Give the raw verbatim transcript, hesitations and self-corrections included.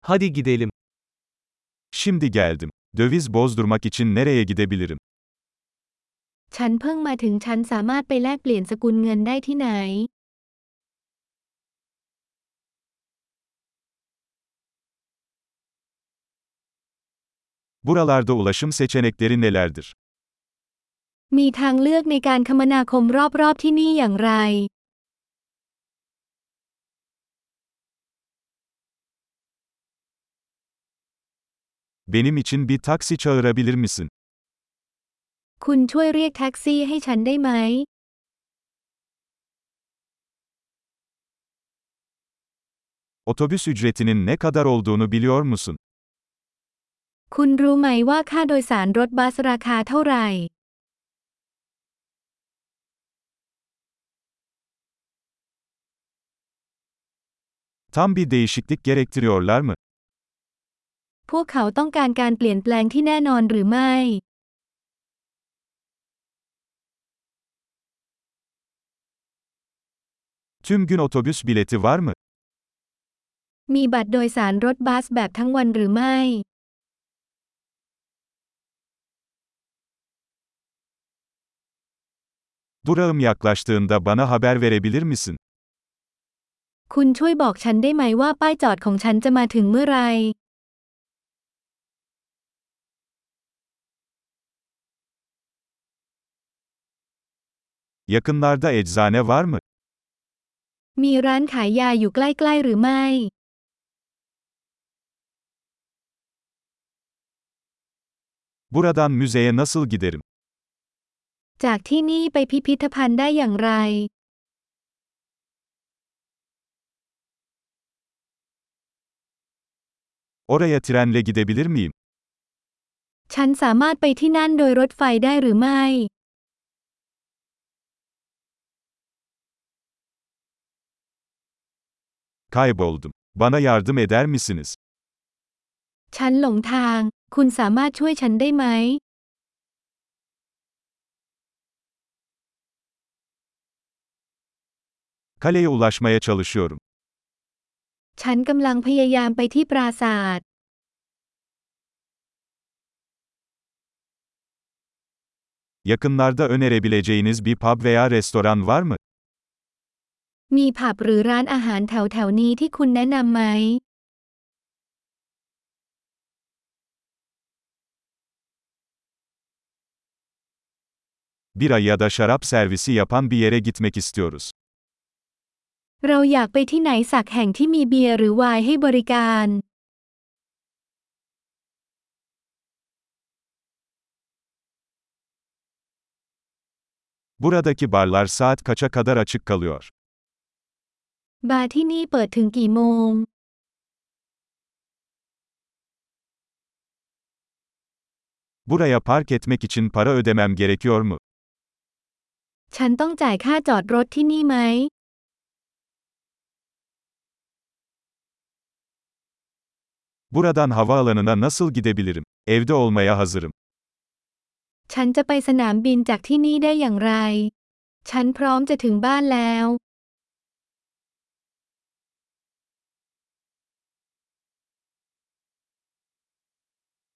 Hadi gidelim. Şimdi geldim. Döviz bozdurmak için nereye gidebilirim? ฉันเพิ่งมาถึงฉันสามารถไปแลกเปลี่ยนสกุลเงินได้ที่ไหน Buralarda ulaşım seçenekleri nelerdir? มีทางเลือกในการคมนาคมรอบๆที่นี่อย่างไร Benim için bir taksi çağırabilir misin? คุณช่วยเรียกแท็กซี่ให้ฉันได้ไหม Otobüs ücretinin ne kadar olduğunu biliyor musun? คุณรู้ไหมว่าค่าโดยสารรถบัสราคาเท่าไหร่ Tam bir değişiklik gerektiriyorlar mı? พวกเขาต้องการการเปลี่ยนแปลงที่แน่นอนหรือไม่ Tüm gün otobüs bileti var mı? มีบัตรโดยสารรถบัสแบบทั้งวันหรือไม่ Durağım yaklaştığında bana haber verebilir misin? คุณช่วยบอกฉันได้ไหมว่าป้ายจอดของฉันจะมาถึงเมื่อไร Yakınlarda eczane var mı? มีร้านขายยาอยู่ใกล้ๆหรือไม่ Buradan müzeye nasıl giderim? จากที่นี่ไปพิพิธภัณฑ์ได้อย่างไร Oraya trenle gidebilir miyim? ฉันสามารถไปที่นั่นโดยรถไฟได้หรือไม่ Kayboldum. Bana yardım eder misiniz? ฉันหลงทาง คุณสามารถช่วยฉันได้ไหม Kaleye ulaşmaya çalışıyorum. ฉันกำลังพยายามไปที่ปราสาท Yakınlarda önerebileceğiniz bir pub veya restoran var mı? มีผับหรือร้านอาหารแถวๆนี้ที่คุณแนะนำไหม Bira ya da şarap servisi yapan bir yere gitmek istiyoruz. เราอยากไปที่ไหนสักแห่งที่มีเบียร์หรือไวน์ให้บริการ Buradaki barlar saat kaça kadar açık kalıyor? บาร์ที่นี่เปิดถึงกี่โมง Buraya park etmek için para ödemem gerekiyor mu? ฉันต้องจ่ายค่าจอดรถที่นี่ไหม Buradan havaalanına nasıl gidebilirim? Evde olmaya hazırım. ฉันจะไปสนามบินจากที่นี่ได้อย่างไร ฉันพร้อมจะถึงบ้านแล้ว